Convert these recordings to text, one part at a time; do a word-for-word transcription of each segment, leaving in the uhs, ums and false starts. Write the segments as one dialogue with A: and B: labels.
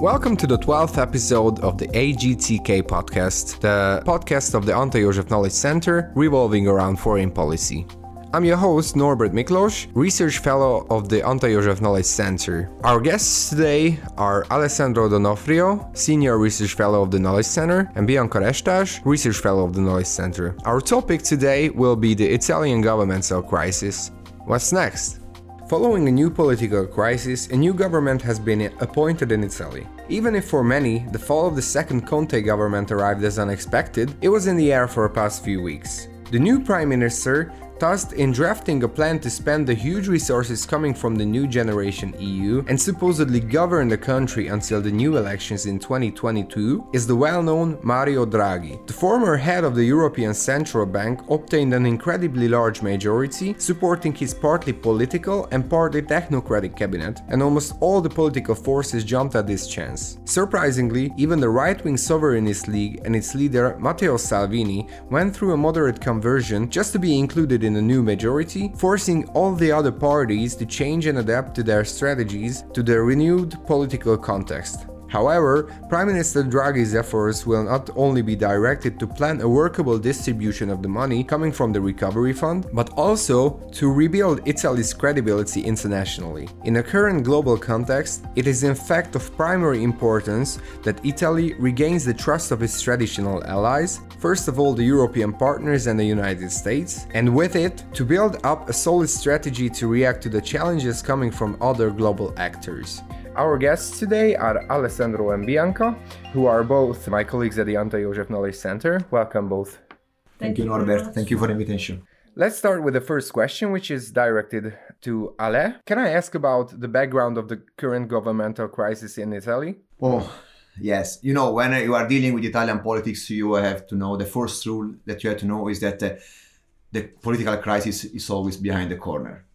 A: Welcome to the twelfth episode of the A G T K podcast, the podcast of the Antal József Knowledge Center revolving around foreign policy. I'm your host, Norbert Miklós, Research Fellow of the Antal József Knowledge Center. Our guests today are Alessandro D'Onofrio, Senior Research Fellow of the Knowledge Center, and Bianca Restas, Research Fellow of the Knowledge Center. Our topic today will be the Italian governmental crisis. What's next? Following a new political crisis, a new government has been appointed in Italy. Even if for many, the fall of the second Conte government arrived as unexpected, it was in the air for the past few weeks. The new Prime Minister tasked in drafting a plan to spend the huge resources coming from the new generation E U and supposedly govern the country until the new elections in twenty twenty-two is the well-known Mario Draghi. The former head of the European Central Bank obtained an incredibly large majority, supporting his partly political and partly technocratic cabinet, and almost all the political forces jumped at this chance. Surprisingly, even the right-wing Sovereignist League and its leader Matteo Salvini went through a moderate conversion just to be included in the new majority, forcing all the other parties to change and adapt to their strategies to the renewed political context. However, Prime Minister Draghi's efforts will not only be directed to plan a workable distribution of the money coming from the Recovery Fund, but also to rebuild Italy's credibility internationally. In the current global context, it is in fact of primary importance that Italy regains the trust of its traditional allies, first of all the European partners and the United States, and with it, to build up a solid strategy to react to the challenges coming from other global actors. Our guests today are Alessandro and Bianca, who are both my colleagues at the Antal József Knowledge Center. Welcome both.
B: Thank, Thank you, Norbert. Thank you for the invitation.
A: Let's start with the first question, which is directed to Ale. Can I ask about the background of the current governmental crisis in Italy?
B: Oh, yes. You know, when you are dealing with Italian politics, you have to know, the first rule that you have to know is that uh, the political crisis is always behind the corner.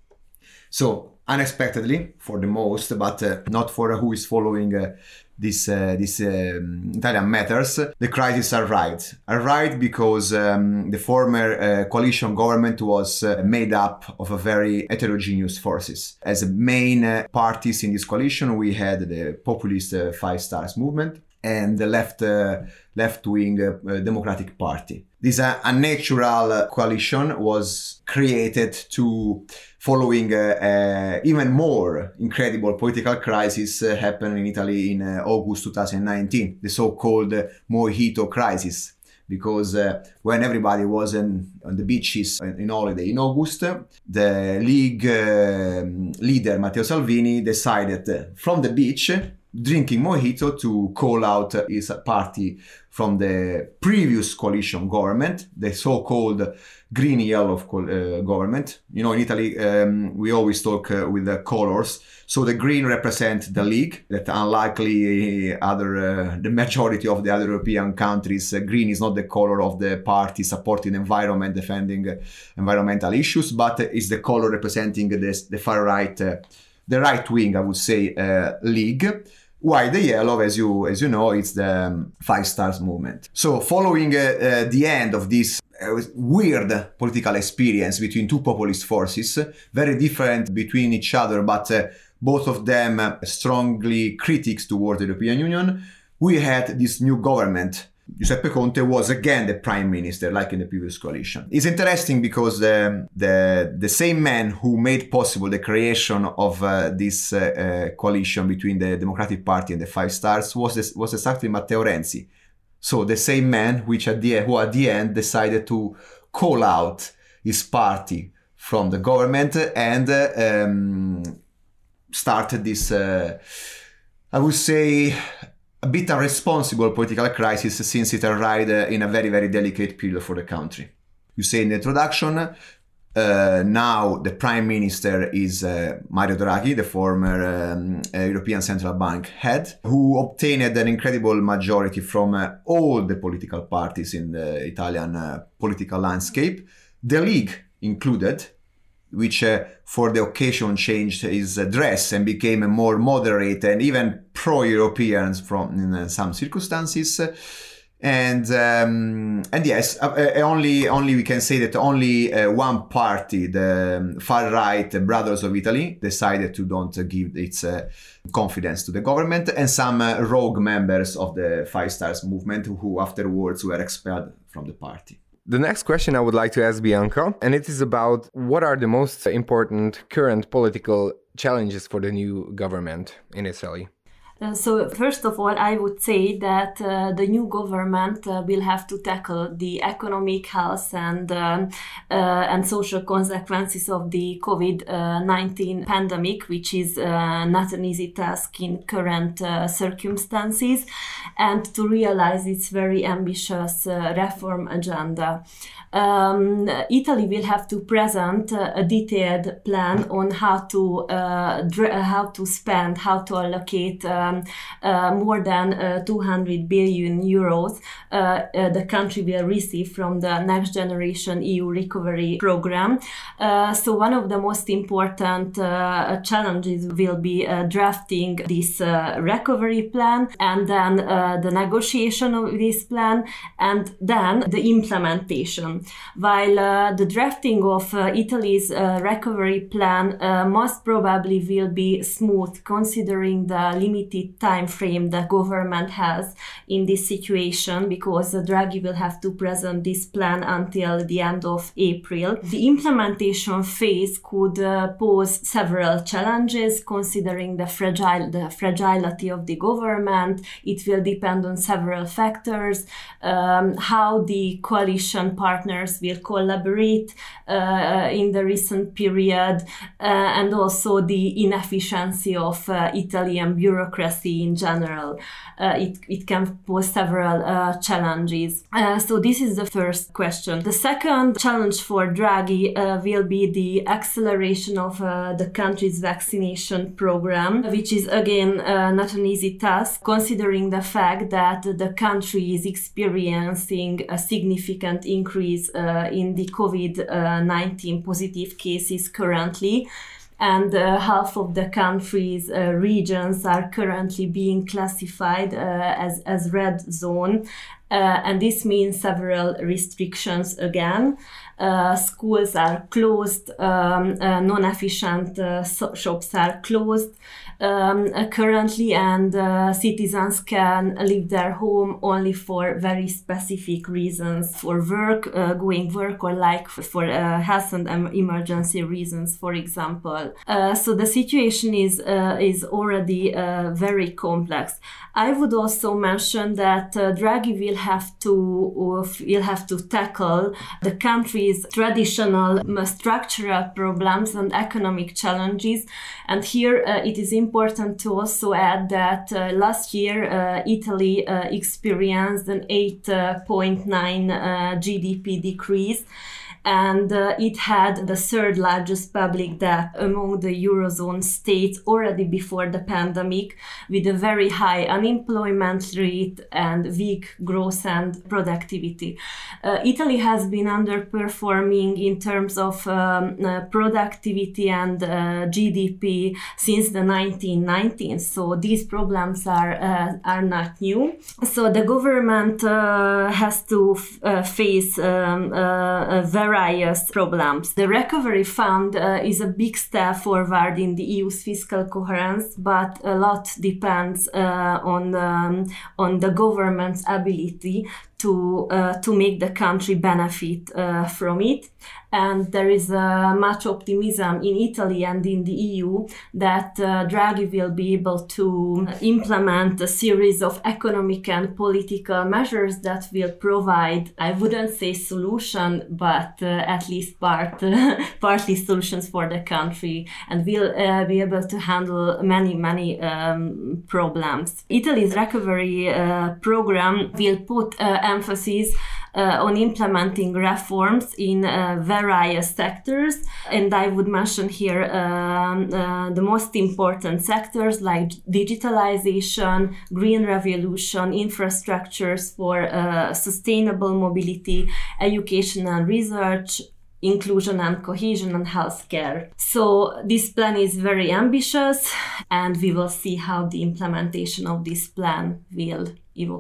B: So, unexpectedly, for the most, but uh, not for who is following uh, this uh, this um, Italian matters, the crisis arrived. Arrived because um, the former uh, coalition government was uh, made up of a very heterogeneous forces. As main uh, parties in this coalition, we had the populist uh, Five Stars movement and the left uh, left-wing uh, Democratic Party. This uh, unnatural uh, coalition was created to following uh, uh, even more incredible political crisis uh, happened in Italy in uh, August twenty nineteen, the so-called uh, Mojito crisis. Because uh, when everybody was in, on the beaches in holiday in August, the League uh, leader Matteo Salvini decided uh, from the beach, drinking mojito, to call out his party from the previous coalition government, the so-called green-yellow uh, government. You know, in Italy, um, we always talk uh, with the colors. So the green represents the League, that unlikely other, uh, the majority of the other European countries, uh, green is not the color of the party supporting environment, defending uh, environmental issues, but is the color representing the, the far right, uh, the right wing, I would say, uh, League. While the yellow, as you as you know, it's the um, Five Stars movement. So following uh, uh, the end of this uh, weird political experience between two populist forces, very different between each other, but uh, both of them uh, strongly critics towards the European Union, we had this new government. Giuseppe Conte was again the prime minister, like in the previous coalition. It's interesting because the the, the same man who made possible the creation of uh, this uh, uh, coalition between the Democratic Party and the Five Stars was this, was exactly Matteo Renzi. So the same man which at the who at the end decided to call out his party from the government and uh, um, started this, uh, I would say, a bit irresponsible political crisis, since it arrived uh, in a very, very delicate period for the country. You say in the introduction, uh, now the Prime Minister is uh, Mario Draghi, the former um, uh, European Central Bank head, who obtained an incredible majority from uh, all the political parties in the Italian uh, political landscape, the League included, which uh, for the occasion changed his uh, dress and became a more moderate and even pro-European from in uh, some circumstances. And um, and yes, uh, only only we can say that only uh, one party, the far right Brothers of Italy, decided to don't uh, give its uh, confidence to the government, and some uh, rogue members of the Five Stars movement who afterwards were expelled from the party.
A: The next question I would like to ask Bianca, and it is about what are the most important current political challenges for the new government in Italy?
C: Uh, so first of all, I would say that uh, the new government uh, will have to tackle the economic, health and um, uh, and social consequences of the COVID nineteen pandemic, which is uh, not an easy task in current uh, circumstances, and to realize its very ambitious uh, reform agenda. Um, Italy will have to present uh, a detailed plan on how to uh, dr- how to spend, how to allocate um, uh, more than uh, two hundred billion euros uh, uh, the country will receive from the Next Generation E U Recovery Program. Uh, so one of the most important uh, challenges will be uh, drafting this uh, recovery plan, and then uh, the negotiation of this plan, and then the implementation. While uh, the drafting of uh, Italy's uh, recovery plan uh, most probably will be smooth, considering the limited time frame the government has in this situation, because uh, Draghi will have to present this plan until the end of April. The implementation phase could uh, pose several challenges, considering the fragile the fragility of the government. It will depend on several factors, um, how the coalition partners will collaborate uh, in the recent period, uh, and also the inefficiency of uh, Italian bureaucracy in general. Uh, it, it can pose several uh, challenges. Uh, so this is the first question. The second challenge for Draghi uh, will be the acceleration of uh, the country's vaccination program, which is again uh, not an easy task, considering the fact that the country is experiencing a significant increase uh, in the COVID nineteen positive cases currently. And uh, half of the country's uh, regions are currently being classified uh, as, as red zone. Uh, and this means several restrictions again. Uh, schools are closed, um, uh, non-efficient uh, so- shops are closed um, uh, currently, and uh, citizens can leave their home only for very specific reasons, for work, uh, going work, or like for uh, health and um, emergency reasons, for example. Uh, so the situation is uh, is already uh, very complex. I would also mention that uh, Draghi will have to uh, will have to tackle the country's traditional uh, structural problems and economic challenges. And here uh, it is important to also add that uh, last year uh, Italy uh, experienced an eight point nine uh, G D P decrease. And uh, it had the third largest public debt among the Eurozone states already before the pandemic, with a very high unemployment rate and weak growth and productivity. Uh, Italy has been underperforming in terms of um, uh, productivity and uh, G D P since the nineteen nineties, so these problems are uh, are not new. So the government uh, has to f- uh, face um, uh, a very various problems. The Recovery Fund uh, is a big step forward in the E U's fiscal coherence, but a lot depends uh, on um, on the government's ability to uh, to make the country benefit uh, from it. And there is uh, much optimism in Italy and in the E U that uh, Draghi will be able to implement a series of economic and political measures that will provide, I wouldn't say solution, but uh, at least part, uh, partly solutions for the country, and will uh, be able to handle many, many um, problems. Italy's recovery uh, program will put uh, emphasis Uh, on implementing reforms in uh, various sectors, and I would mention here um, uh, the most important sectors like digitalization, green revolution, infrastructures for uh, sustainable mobility, education and research, inclusion and cohesion, and healthcare. So this plan is very ambitious, and we will see how the implementation of this plan will evolve.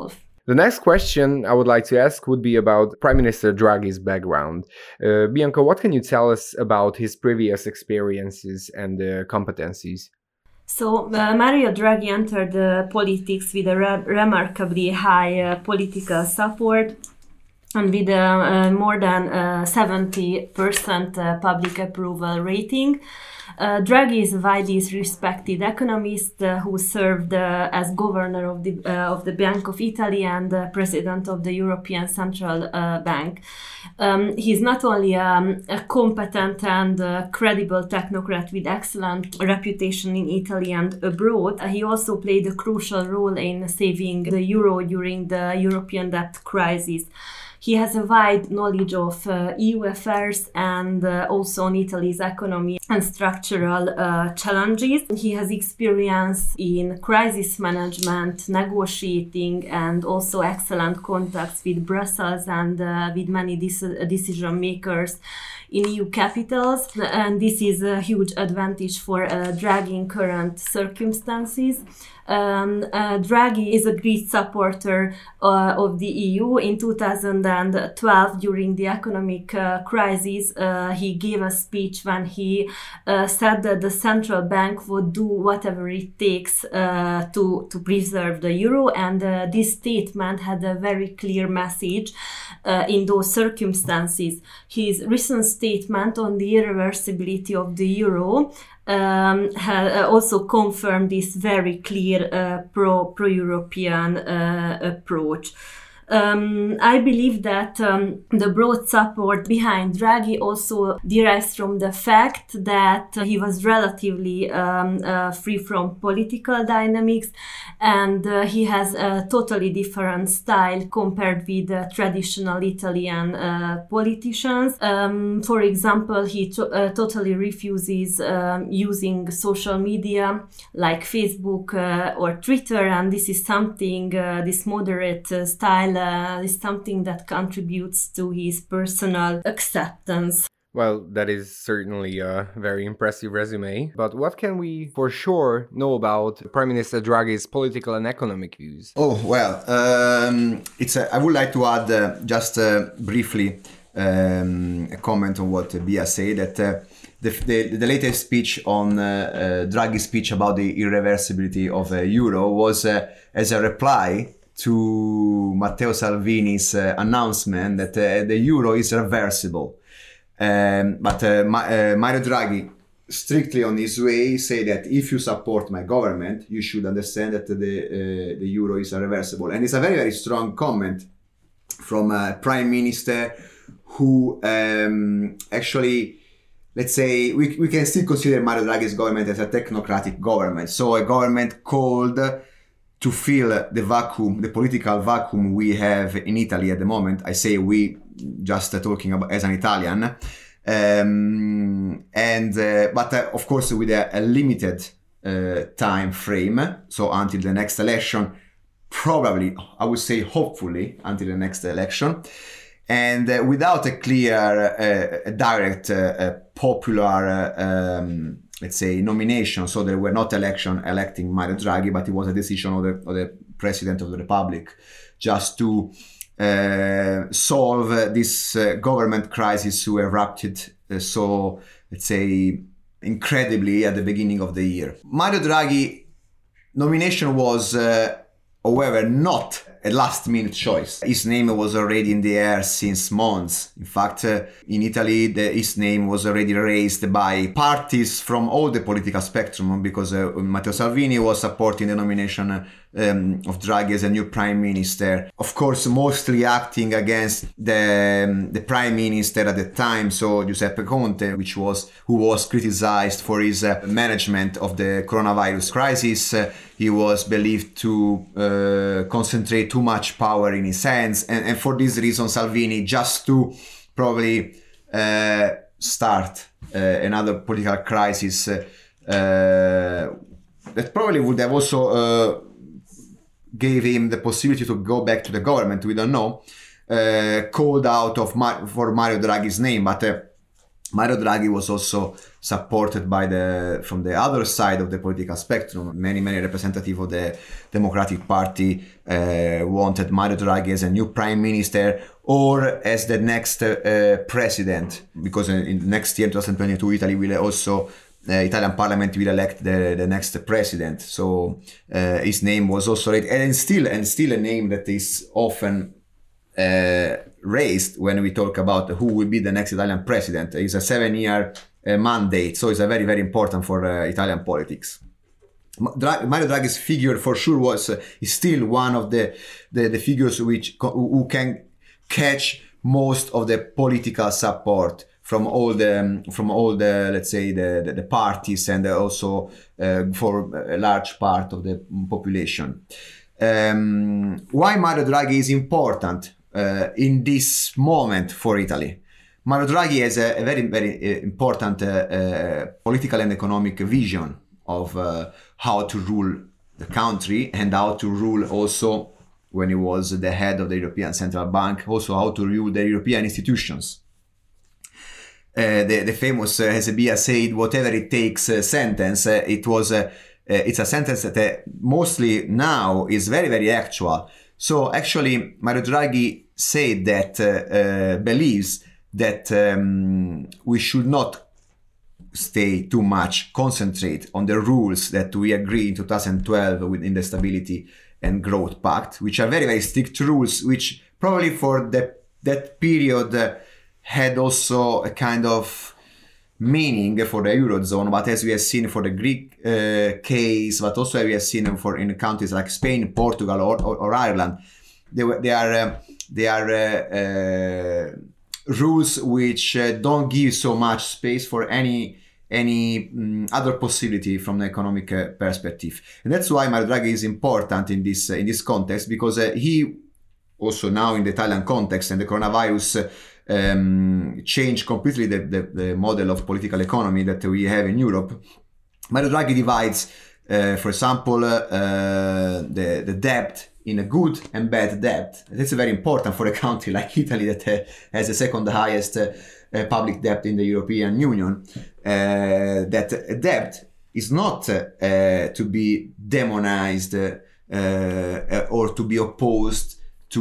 A: The next question I would like to ask would be about Prime Minister Draghi's background. Uh, Bianca, what can you tell us about his previous experiences and uh, competencies?
C: So, uh, Mario Draghi entered uh, politics with a re- remarkably high uh, political support and with uh, uh, more than uh, seventy percent uh, public approval rating. Uh, Draghi is a widely respected economist uh, who served uh, as governor of the uh, of the Bank of Italy and uh, president of the European Central uh, Bank. Um, he's not only um, a competent and uh, credible technocrat with excellent reputation in Italy and abroad, uh, he also played a crucial role in saving the euro during the European debt crisis. He has a wide knowledge of uh, E U affairs and uh, also on Italy's economy and structural uh, challenges. He has experience in crisis management, negotiating, and also excellent contacts with Brussels and uh, with many de- decision makers in E U capitals. And this is a huge advantage for uh, Draghi in current circumstances. Um, uh, Draghi is a great supporter uh, of the E U. In two thousand twelve, during the economic uh, crisis, uh, he gave a speech when he uh, said that the central bank would do whatever it takes uh, to, to preserve the euro, and uh, this statement had a very clear message uh, in those circumstances. His recent statement on the irreversibility of the euro Um, ha, uh, also confirmed this very clear uh, pro, pro-European uh, approach. Um, I believe that um, the broad support behind Draghi also derives from the fact that uh, he was relatively um, uh, free from political dynamics, and uh, he has a totally different style compared with uh, traditional Italian uh, politicians. Um, for example, he to- uh, totally refuses um, using social media like Facebook uh, or Twitter, and this is something, uh, this moderate uh, style Uh, is something that contributes to his personal acceptance.
A: Well, that is certainly a very impressive resume. But what can we for sure know about Prime Minister Draghi's political and economic views?
B: Oh, well, um, it's a, I would like to add uh, just uh, briefly um, a comment on what Bia said, that uh, the, the, the latest speech on uh, uh, Draghi's speech about the irreversibility of the euro was uh, as a reply to Matteo Salvini's uh, announcement that uh, the euro is reversible. Um, but uh, Ma- uh, Mario Draghi, strictly on his way, say that if you support my government, you should understand that the uh, the euro is reversible. And it's a very, very strong comment from a prime minister who um, actually, let's say, we, we can still consider Mario Draghi's government as a technocratic government. So a government called to fill the vacuum, the political vacuum we have in Italy at the moment. I say we, just uh, talking about as an Italian, um, and uh, but uh, of course with a, a limited uh, time frame. So until the next election, probably I would say hopefully until the next election, and uh, without a clear, uh, direct, uh, uh, popular. Uh, um, let's say, nomination. So there were not election electing Mario Draghi, but it was a decision of the, of the President of the Republic just to uh, solve uh, this uh, government crisis who erupted uh, so, let's say, incredibly at the beginning of the year. Mario Draghi nomination was, uh, however, not a last-minute choice. His name was already in the air since months. In fact, uh, in Italy, the, his name was already raised by parties from all the political spectrum, because uh, Matteo Salvini was supporting the nomination um, of Draghi as a new prime minister. Of course, mostly acting against the um, the prime minister at the time, so Giuseppe Conte, which was who was criticized for his uh, management of the coronavirus crisis. Uh, he was believed to uh, concentrate too much power in his hands, and, and for this reason Salvini, just to probably uh, start uh, another political crisis uh, uh, that probably would have also uh, gave him the possibility to go back to the government, we don't know, uh, called out of Mar- for Mario Draghi's name, but uh, Mario Draghi was also supported by the from the other side of the political spectrum. Many, many representatives of the Democratic Party uh, wanted Mario Draghi as a new prime minister or as the next uh, president, because in, in next year, twenty twenty-two, Italy will also the Italian Parliament will elect the, the next president. So uh, his name was also raised, and still and still a name that is often uh, raised when we talk about who will be the next Italian president. It's a seven-year uh, mandate, so it's a very very important for uh, Italian politics. Dra- Mario Draghi's figure for sure was uh, is still one of the, the the figures which who can catch most of the political support from all the from all the let's say the the, the parties, and also uh, for a large part of the population. Um, why Mario Draghi is important uh, in this moment for Italy? Mario Draghi has a, a very very important uh, uh, political and economic vision of uh, how to rule the country, and how to rule also, when he was the head of the European Central Bank, also how to rule the European institutions. Uh, the, the famous uh, Hezebia said, "Whatever it takes" uh, sentence. Uh, it was uh, uh, it's a sentence that uh, mostly now is very very actual. So actually, Mario Draghi said that uh, uh, believes that um, we should not stay too much concentrate on the rules that we agreed in two thousand twelve within the Stability and Growth Pact, which are very very strict rules, which probably for the, that period uh, had also a kind of meaning for the Eurozone, but as we have seen for the Greek uh, case, but also as we have seen for in countries like Spain, Portugal, or, or, or Ireland, they, they are uh, they are uh, uh, rules which uh, don't give so much space for any any um, other possibility from the economic uh, perspective. And that's why Mario Draghi is important in this uh, in this context, because uh, he also now in the Italian context and the coronavirus uh, um, changed completely the, the, the model of political economy that we have in Europe. Mario Draghi divides, uh, for example, uh, the, the debt in a good and bad debt. That's very important for a country like Italy that uh, has the second highest uh, uh, public debt in the European Union. Uh, that debt is not uh, uh, to be demonized uh, uh, or to be opposed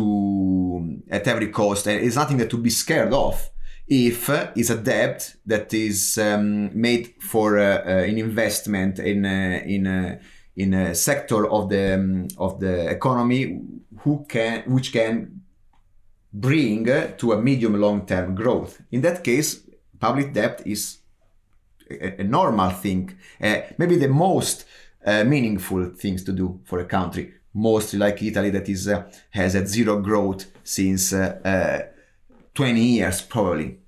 B: to at every cost. It's nothing that to be scared of. If uh, it's a debt that is um, made for uh, uh, an investment in uh, in uh, in a sector of the um, of the economy who can which can bring uh, to a medium long term growth. In that case, public debt is a, a normal thing, uh, maybe the most uh, meaningful things to do for a country, mostly like Italy that is uh, has a zero growth since uh, uh, twenty years probably.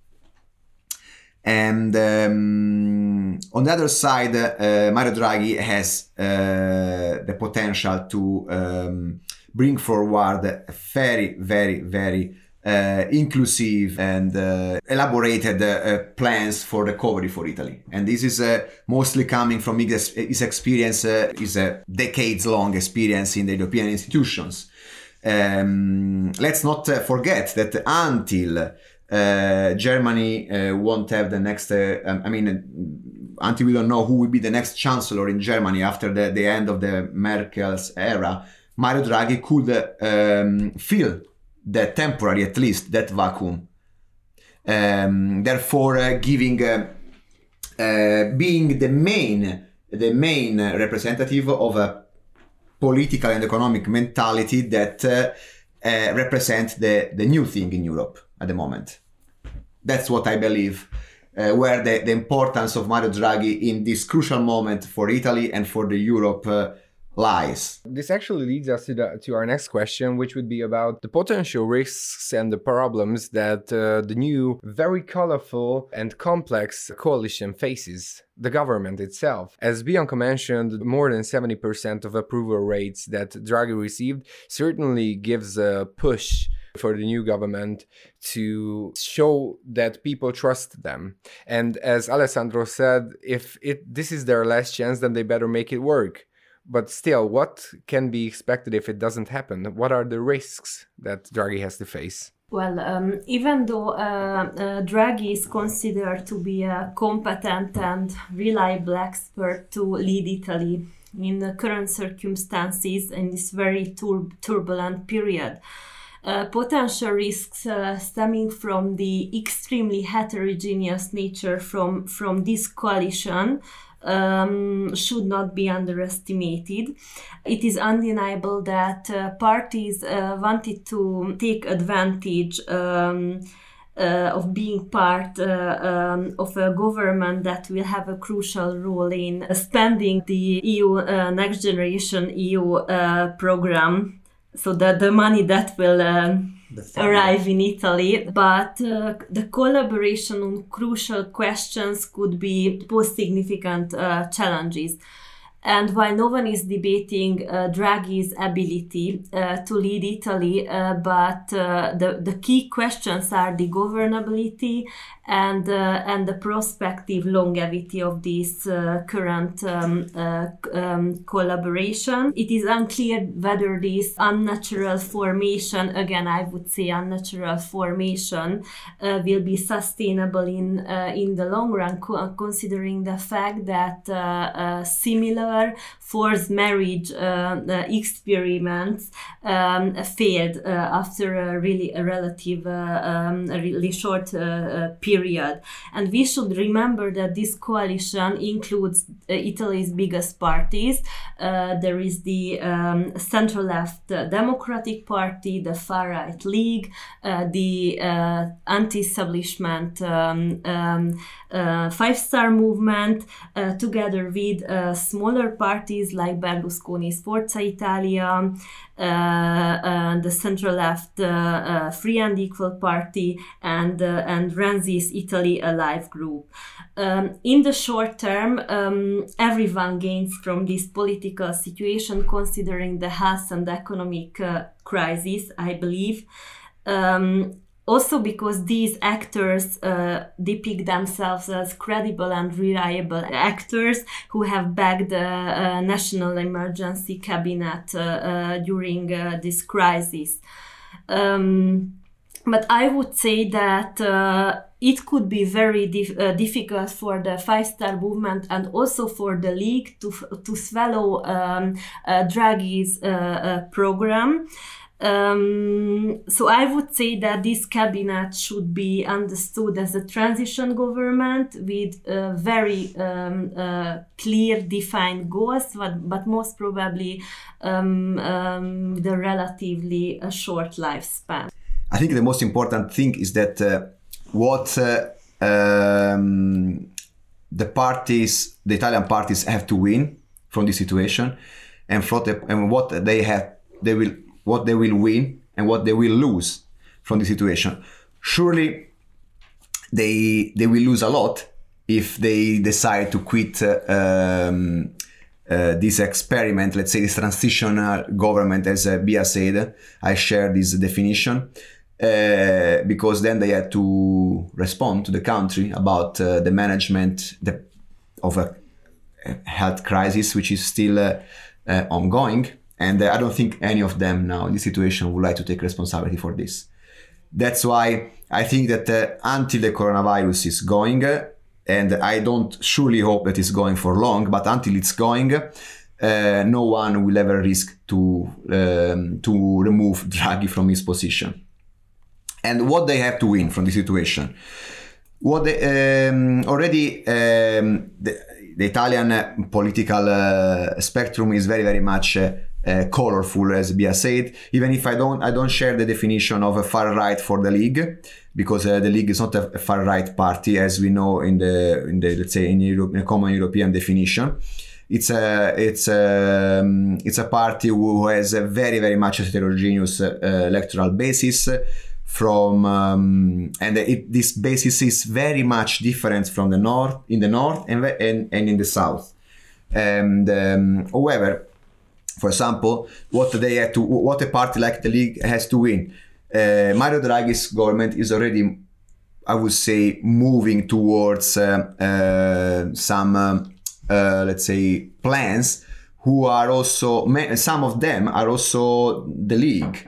B: And um, on the other side, uh, Mario Draghi has uh, the potential to um, bring forward a very, very, very uh, inclusive and uh, elaborated uh, plans for recovery for Italy. And this is uh, mostly coming from his, his experience, uh, his uh, decades-long experience in the European institutions. Um, let's not uh, forget that until Uh, Germany uh, won't have the next, uh, um, I mean, uh, until we don't know who will be the next chancellor in Germany after the, the end of the Merkel's era, Mario Draghi could uh, um, fill that temporary, at least, that vacuum. Um, therefore, uh, giving, uh, uh, being the main, the main representative of a political and economic mentality that uh, uh, represents the, the new thing in Europe at the moment. That's what I believe, uh, where the, the importance of Mario Draghi in this crucial moment for Italy and for the Europe uh, lies.
A: This actually leads us to, the, to our next question, which would be about the potential risks and the problems that uh, the new, very colorful and complex coalition faces. The government itself. As Bianca mentioned, more than seventy percent of approval rates that Draghi received certainly gives a push for the new government to show that people trust them. And as Alessandro said, if it this is their last chance, then they better make it work. But still, what can be expected if it doesn't happen? What are the risks that Draghi has to face?
C: Well, um, even though uh, uh, Draghi is considered to be a competent and reliable expert to lead Italy in the current circumstances in this very tur- turbulent period, Uh, potential risks uh, stemming from the extremely heterogeneous nature from, from this coalition um, should not be underestimated. It is undeniable that uh, parties uh, wanted to take advantage um, Uh, of being part uh, um, of a government that will have a crucial role in spending the E U uh, Next Generation E U uh, program, so that the money that will uh, arrive in Italy. But uh, the collaboration on crucial questions could be pose significant uh, challenges. And while no one is debating uh, Draghi's ability uh, to lead Italy, uh, but uh, the, the key questions are the governability and uh, and the prospective longevity of this uh, current um, uh, um, collaboration. It is unclear whether this unnatural formation, again I would say unnatural formation, uh, will be sustainable in uh, in the long run, co- considering the fact that uh, uh, similar forced marriage uh, uh, experiments um, failed uh, after a really a relative uh, um, a really short uh, uh, period. And we should remember that this coalition includes uh, Italy's biggest parties. Uh, there is the um, centre-left uh, Democratic Party, the far-right League, uh, the uh, anti-establishment um, um, uh, Five Star Movement, uh, together with uh, smaller parties like Berlusconi's Forza Italia, uh, uh, the centre-left uh, uh, Free and Equal Party, and uh, and Renzi's Italy Alive group. Um, in the short term, um, everyone gains from this political situation, considering the health and economic uh, crisis, I believe. Um, Also because these actors uh, depict themselves as credible and reliable actors who have backed the uh, National Emergency Cabinet uh, uh, during uh, this crisis. Um, but I would say that uh, it could be very dif- uh, difficult for the Five Star Movement and also for the League to, f- to swallow um, uh, Draghi's uh, uh, program. Um, so I would say that this cabinet should be understood as a transition government with uh, very um, uh, clear defined goals, but, but most probably um, um, with a relatively uh, short lifespan.
B: I think the most important thing is that uh, what uh, um, the parties, the Italian parties have to win from this situation, and, from the, and what they have, they will what they will win and what they will lose from the situation. Surely they they will lose a lot if they decide to quit uh, um, uh, this experiment, let's say this transitional government, as uh, Bia said. I share this definition uh, because then they had to respond to the country about uh, the management the, of a health crisis, which is still uh, uh, ongoing. And I don't think any of them now in this situation would like to take responsibility for this. That's why I think that uh, until the coronavirus is going, uh, and I don't surely hope that it's going for long, but until it's going, uh, no one will ever risk to um, to remove Draghi from his position. And what they have to win from this situation? What they, um, already um, the, the Italian political uh, spectrum is very, very much uh, Uh, colorful, as Bia said. Even if I don't, I don't share the definition of a far right for the League, because uh, the League is not a, a far right party, as we know in the, in the let's say in, Europe, in a common European definition. It's a, it's a, um, it's a party who has a very, very much heterogeneous uh, electoral basis. From um, and it, this basis is very much different from the north, in the north and and, and in the south. And um, however. For example, what they have to, what a party like the League has to win. Uh, Mario Draghi's government is already, I would say, moving towards uh, uh, some, uh, uh, let's say, plans who are also, some of them are also the League.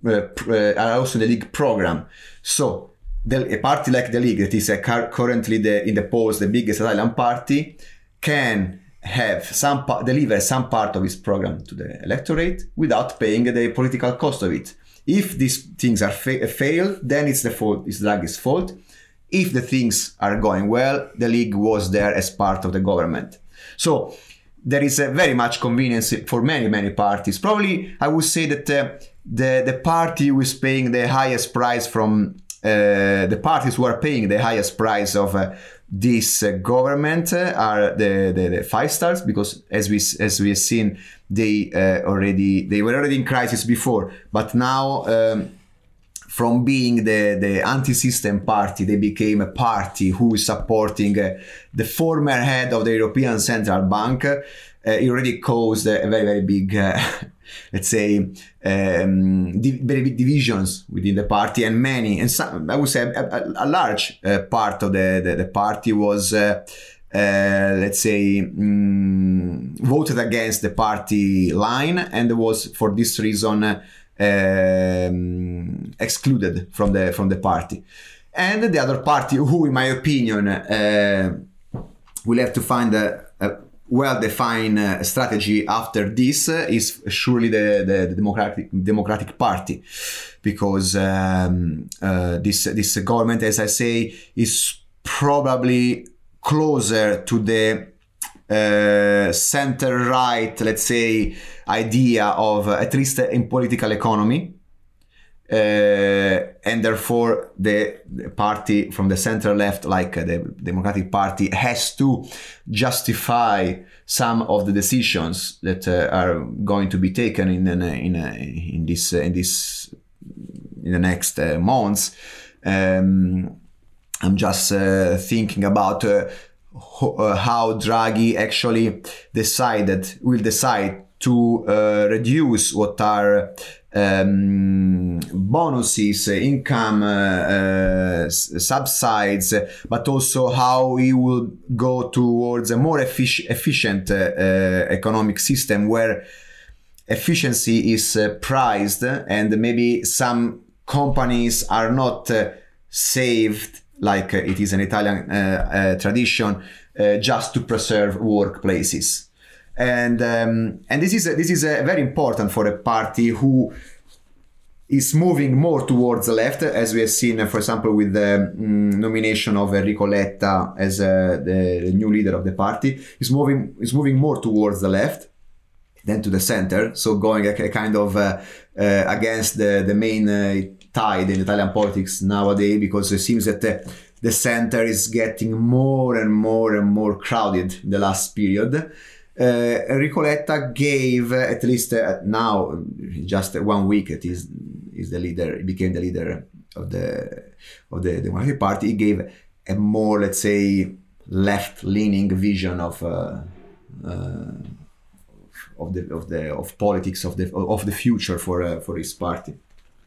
B: uh, uh, are also in the League program. So the, a party like the League, that is uh, currently the, in the polls the biggest Italian party, can have some deliver some part of its program to the electorate without paying the political cost of it. If these things are fa- failed, then it's the fault, it's Draghi's fault. If the things are going well, the League was there as part of the government. So there is a very much convenience for many, many parties. Probably I would say that uh, the, the party who is paying the highest price from uh, the parties who are paying the highest price of uh, this uh, government uh, are the, the, the five stars, because as we as we have seen, they uh, already they were already in crisis before, but now um, from being the, the anti-system party, they became a party who is supporting uh, the former head of the European Central Bank. Uh, it already caused a very, very big, uh, let's say, um, di- very big divisions within the party, and many, and some, I would say a, a, a large uh, part of the, the, the party was, uh, uh, let's say, um, voted against the party line, and was for this reason uh, Um, excluded from the from the party. And the other party, who in my opinion uh, will have to find a, a well-defined uh, strategy after this, uh, is surely the, the, the Democratic Democratic Party, because um, uh, this this government, as I say, is probably closer to the uh, center-right, let's say, idea of, uh, at least in political economy, uh, and therefore the, the party from the center left, like uh, the Democratic Party, has to justify some of the decisions that uh, are going to be taken in in in, in this uh, in this in the next uh, months. Um, I'm just uh, thinking about uh, ho- uh, how Draghi actually decided will decide to uh, reduce what are um, bonuses, income uh, uh, subsides, but also how we will go towards a more effic- efficient uh, uh, economic system where efficiency is uh, prized, and maybe some companies are not uh, saved, like uh, it is an Italian uh, uh, tradition, uh, just to preserve workplaces. And um, and this is a, this is a very important for a party who is moving more towards the left, as we have seen, uh, for example, with the um, nomination of Enrico Letta as uh, the, the new leader of the party. Is moving is moving more towards the left than to the center, so going a, a kind of uh, uh, against the the main uh, tide in Italian politics nowadays, because it seems that the, the center is getting more and more and more crowded in the last period. Uh, Enrico Letta gave, uh, at least uh, now, just one week, it is is the leader. He became the leader of the of the Democratic Party. He gave a more, let's say, left-leaning vision of uh, uh, of the of the of politics of the of the future for uh, for his party.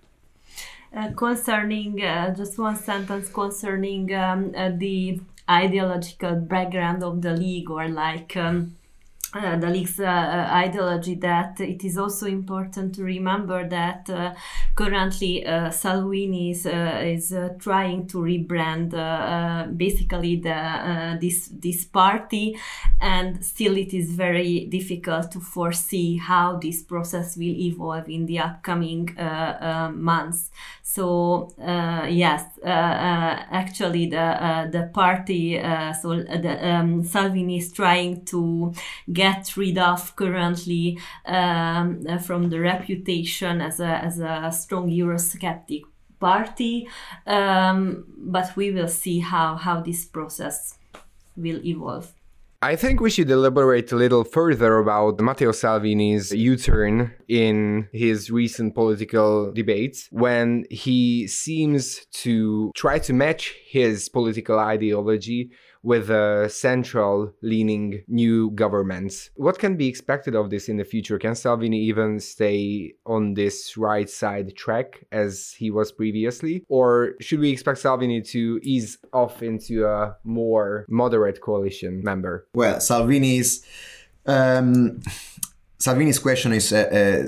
C: Uh, concerning uh, just one sentence concerning um, uh, the ideological background of the League, or like. Um, Uh, the League's uh, ideology, that it is also important to remember that uh, currently uh, Salvini is, uh, is uh, trying to rebrand uh, uh, basically the uh, this this party, and still it is very difficult to foresee how this process will evolve in the upcoming uh, uh, months. So uh, yes, uh, uh, actually the uh, the party, uh, so the um, Salvini is trying to get rid of currently um, from the reputation as a as a strong Eurosceptic party, um, but we will see how how this process will evolve.
A: I think we should elaborate a little further about Matteo Salvini's U-turn in his recent political debates, when he seems to try to match his political ideology with a central-leaning new government. What can be expected of this in the future? Can Salvini even stay on this right-side track as he was previously? Or should we expect Salvini to ease off into a more moderate coalition member?
B: Well, Salvini's um, Salvini's question is uh, uh,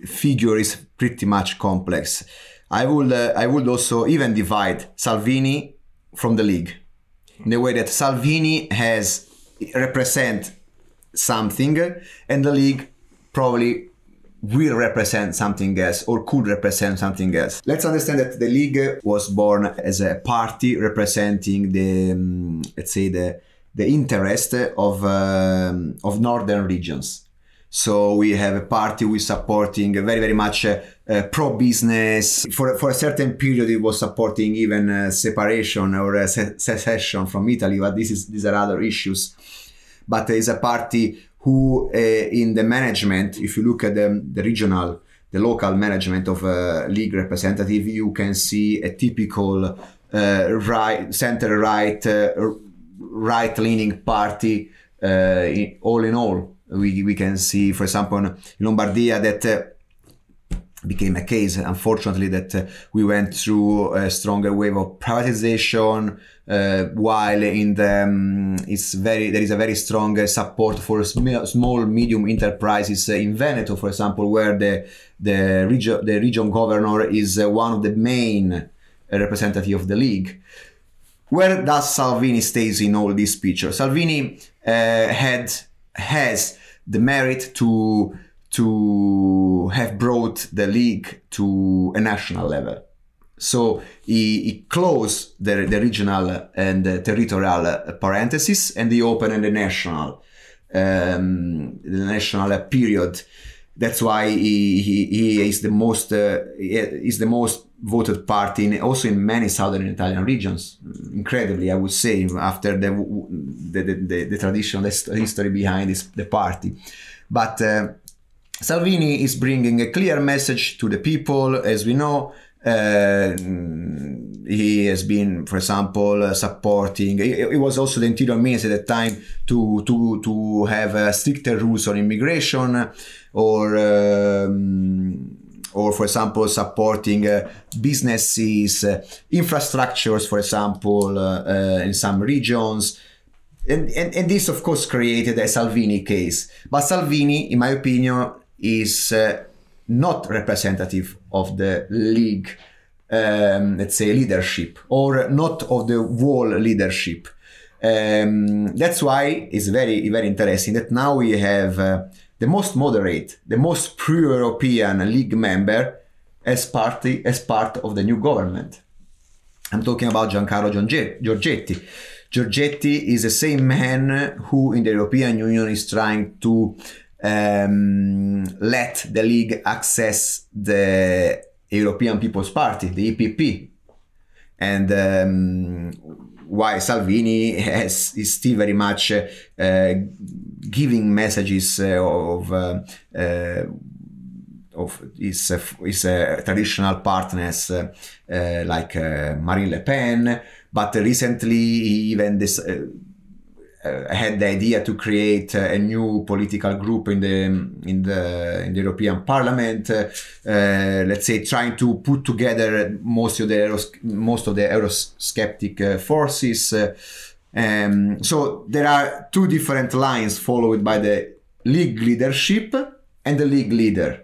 B: figure is pretty much complex. I would uh, I would also even divide Salvini from the League, in the way that Salvini has represent something and the League probably will represent something else or could represent something else. Let's understand that the League was born as a party representing the um, let's say the the interest of um, of northern regions. So we have a party who is supporting very, very much uh, uh, pro-business. For, for a certain period, it was supporting even uh, separation or uh, se- secession from Italy, but this is, these are other issues. But it's a party who, uh, in the management, if you look at the, the regional, the local management of a League representative, you can see a typical uh, right, center-right, uh, right-leaning party uh, in, all in all. We we can see, for example, in Lombardia that uh, became a case, unfortunately, that uh, we went through a stronger wave of privatization, uh, while in the um, it's very there is a very strong uh, support for sm- small medium enterprises uh, in Veneto, for example, where the the region the region governor is uh, one of the main uh, representative of the League. Where does Salvini stays in all this picture? Salvini uh, had has the merit to to have brought the League to a national level. So he, he closed the, the regional and the territorial parentheses and he opened the national um, the national period. That's why he he, he is the most uh, is the most voted party in, also in many southern Italian regions. Incredibly, I would say, after the the the, the traditional history behind this the party. But uh, Salvini is bringing a clear message to the people, as we know. Uh, he has been, for example, uh, supporting. He was also the interior minister at the time to to to have uh, stricter rules on immigration, or um, or for example supporting uh, businesses, uh, infrastructures, for example, uh, uh, in some regions. And, and and this of course created a Salvini case. But Salvini, in my opinion, is uh, not representative of the League, um, let's say, leadership, or not of the whole leadership. Um, that's why it's very, very interesting that now we have uh, the most moderate, the most pro-European League member as party as part of the new government. I'm talking about Giancarlo Giorgetti. Giorgetti is the same man who in the European Union is trying to um, let the League access the European People's Party, the E P P. And um, while Salvini has, is still very much uh, uh, giving messages uh, of uh, uh, of his, uh, his uh, traditional partners uh, uh, like uh, Marine Le Pen, but recently he even this, uh, uh, had the idea to create a new political group in the in the in the European Parliament. Uh, uh, let's say trying to put together most of the Euros- most of the Eurosceptic uh, forces. Uh, um, so there are two different lines followed by the League leadership and the League leader.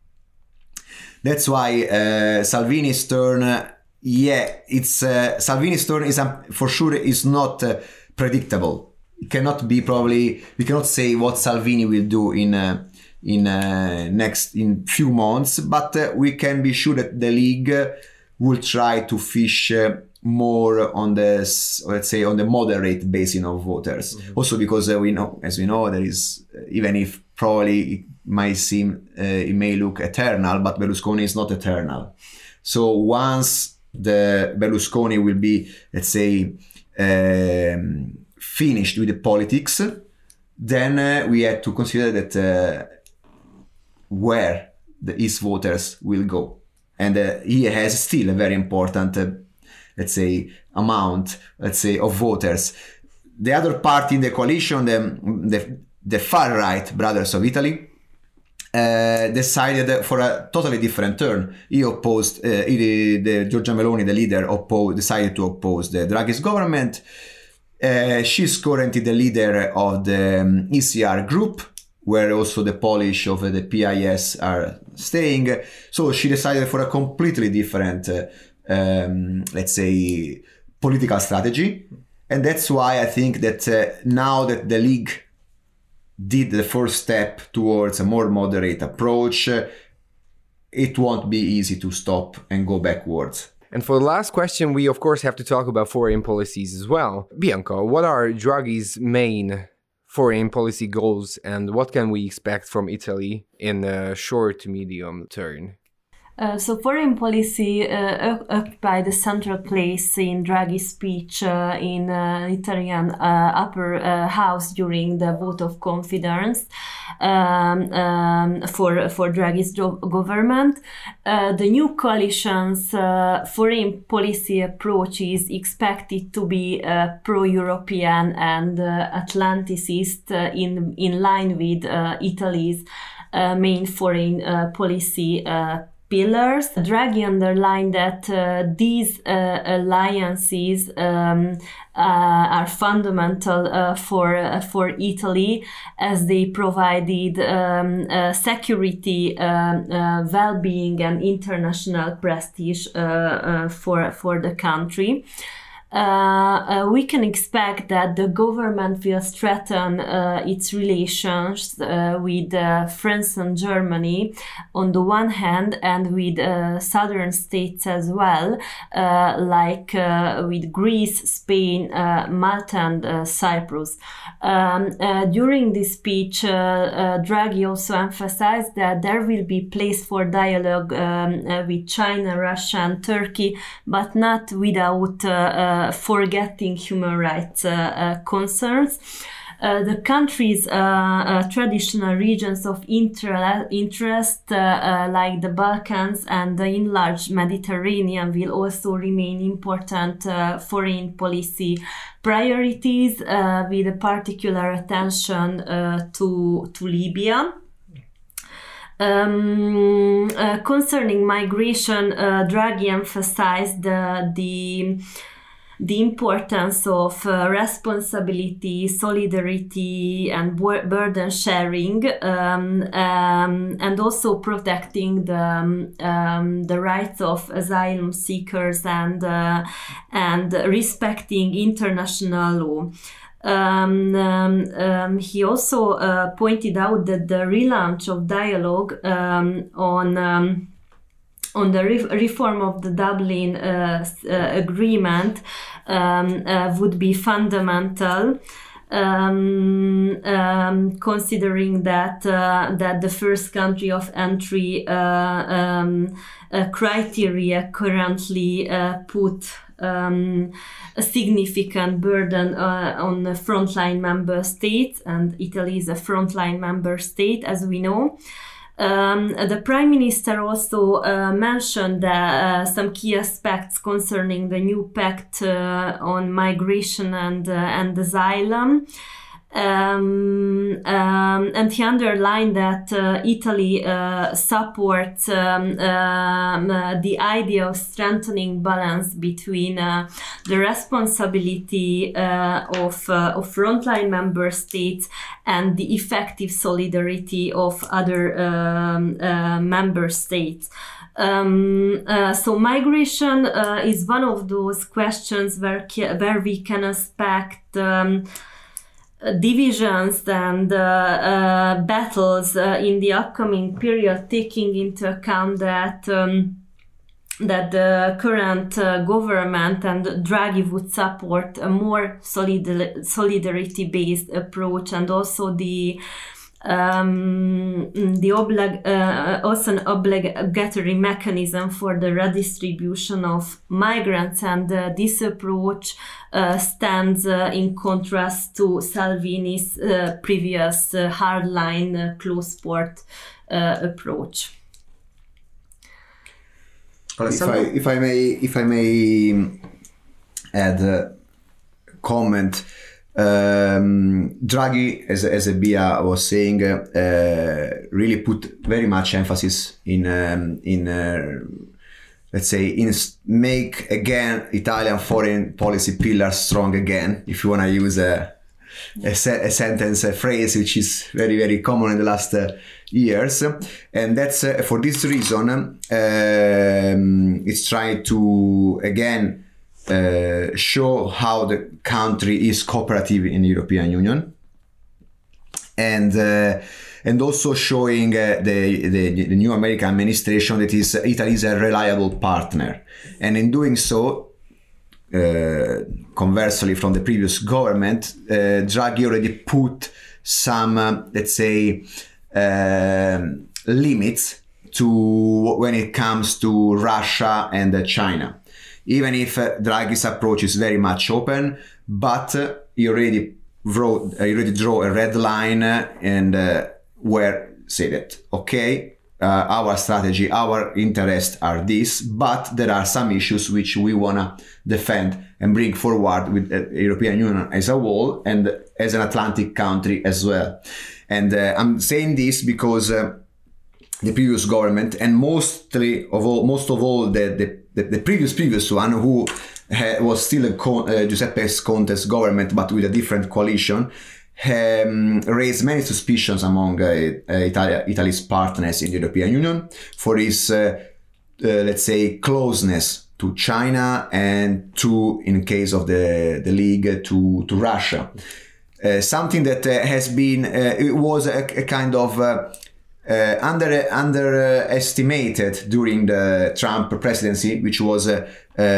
B: That's why uh, Salvini's turn, uh, yeah, it's uh, Salvini's turn is um, for sure is not uh, predictable. It cannot be probably. We cannot say what Salvini will do in uh, in uh, next in few months, but uh, we can be sure that the League uh, will try to fish uh, more on the, let's say, on the moderate basis of voters. Mm-hmm. Also because uh, we know, as we know, there is uh, even if probably it might seem uh, it may look eternal, but Berlusconi is not eternal. So once the Berlusconi will be, let's say, um, finished with the politics, then uh, we have to consider that uh, where the his voters will go, and uh, he has still a very important, uh, let's say, amount, let's say, of voters. The other party in the coalition, the the, the far right Brothers of Italy, Uh, decided for a totally different turn. He opposed, uh, he, the Giorgia Meloni, the leader, opposed, decided to oppose the Draghi's government. Uh, she's currently the leader of the um, E C R group, where also the Polish of the P I S are staying. So she decided for a completely different, uh, um, let's say, political strategy. And that's why I think that uh, now that the League did the first step towards a more moderate approach, uh, it won't be easy to stop and go backwards.
A: And for the last question, we of course have to talk about foreign policies as well. Bianca, what are Draghi's main foreign policy goals and what can we expect from Italy in the short to medium term?
C: Uh, so foreign policy uh, occupied the central place in Draghi's speech uh, in uh, Italian uh, upper uh, house during the vote of confidence um, um, for for Draghi's government. Uh, the new coalition's uh, foreign policy approach is expected to be uh, pro-European and uh, Atlanticist uh, in in line with uh, Italy's uh, main foreign uh, policy uh, pillars. Draghi underlined that uh, these uh, alliances um, uh, are fundamental uh, for uh, for Italy, as they provided um, uh, security, uh, uh, well-being, and international prestige uh, uh, for for the country. Uh, uh, we can expect that the government will strengthen uh, its relations uh, with uh, France and Germany on the one hand, and with uh, southern states as well, uh, like uh, with Greece, Spain, uh, Malta, and uh, Cyprus. Um, uh, during this speech, uh, uh, Draghi also emphasized that there will be place for dialogue um, uh, with China, Russia, and Turkey, but not without uh, uh, forgetting human rights uh, uh, concerns. Uh, the country's uh, uh, traditional regions of inter- interest, uh, uh, like the Balkans and the enlarged Mediterranean, will also remain important uh, foreign policy priorities, uh, with a particular attention uh, to, to Libya. Um, uh, concerning migration, uh, Draghi emphasized uh, the the importance of uh, responsibility, solidarity, and burden sharing, um, um, and also protecting the um, um, the rights of asylum seekers and uh, and respecting international law. Um, um, um, he also uh, pointed out that the relaunch of dialogue um, on um, on the re- reform of the Dublin uh, uh, agreement um, uh, would be fundamental, um, um, considering that uh, that the first country of entry uh, um, uh, criteria currently uh, put um, a significant burden uh, on the frontline member states, and Italy is a frontline member state, as we know. Um, the Prime Minister also uh, mentioned uh, some key aspects concerning the new pact uh, on migration and, uh, and asylum. Um, um, and he underlined that uh, Italy uh, supports um, um, uh, the idea of strengthening balance between uh, the responsibility uh, of, uh, of frontline member states and the effective solidarity of other um, uh, member states. Um, uh, so migration uh, is one of those questions where, where we can expect um, divisions and uh, uh, battles uh, in the upcoming period, taking into account that um, that the current uh, government and Draghi would support a more solid- solidarity-based approach, and also the um, the oblig- uh, also an obligatory mechanism for the redistribution of migrants, and uh, this approach uh, stands uh, in contrast to Salvini's uh, previous uh, hardline uh, close port uh, approach.
B: If I, if I may, if I may add a comment, um, Draghi, as as Bia was saying, uh, really put very much emphasis in um, in uh, let's say in make again Italian foreign policy pillar strong again, if you want to use a a, se- a sentence, a phrase which is very, very common in the last uh, years. And that's uh, for this reason, um, it's trying to, again, uh, show how the country is cooperative in the European Union. And uh, and also showing uh, the, the the new American administration that is Italy is a reliable partner. And in doing so, uh, conversely from the previous government, uh, Draghi already put some, uh, let's say, uh, limits to when it comes to Russia and uh, China. Even if uh, Draghi's approach is very much open, but uh, he already wrote, uh, he already draw a red line uh, and uh, where say that, okay, uh, our strategy, our interests are this, but there are some issues which we want to defend and bring forward with the European Union as a whole and as an Atlantic country as well. And uh, I'm saying this because uh, the previous government, and mostly of all, most of all the, the, the, the previous previous one, who ha- was still a Con- uh, Giuseppe Conte's government, but with a different coalition, Um, raised many suspicions among uh, uh, Italy, Italy's partners in the European Union for its, uh, uh, let's say, closeness to China and to, in case of the, the League, to, to Russia. Uh, something that uh, has been, uh, it was a, a kind of uh, uh, under underestimated during the Trump presidency, which was, uh,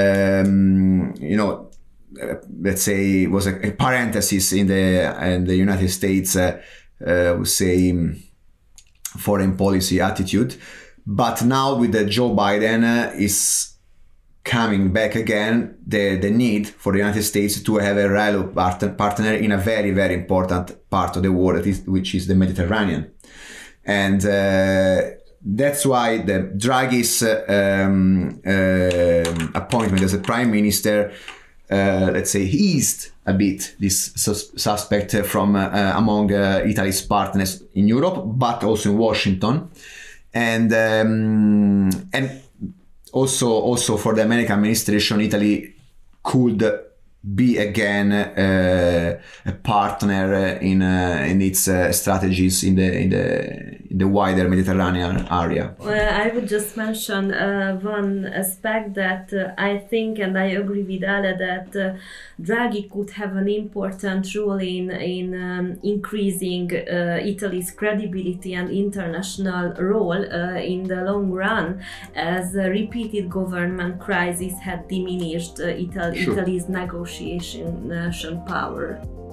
B: um, you know, Uh, let's say was a, a parenthesis in the in the United States uh, uh, would say um, foreign policy attitude, but now with the Joe Biden uh, is coming back again the the need for the United States to have a reliable partner partner in a very very important part of the world, that is, which is the Mediterranean, and uh, that's why the Draghi's uh, um, uh, appointment as a prime minister, Uh, let's say, eased a bit this sus- suspect from uh, uh, among uh, Italy's partners in Europe, but also in Washington, and um, and also also for the American administration, Italy could be again uh, a partner in uh, in its uh, strategies in the in the in the wider Mediterranean area.
C: Well, I would just mention uh, one aspect that uh, I think, and I agree with Ale, that uh, Draghi could have an important role in in um, increasing uh, Italy's credibility and international role uh, in the long run, as a repeated government crisis had diminished uh, Italy,
B: Sure.
C: Italy's negotiation power.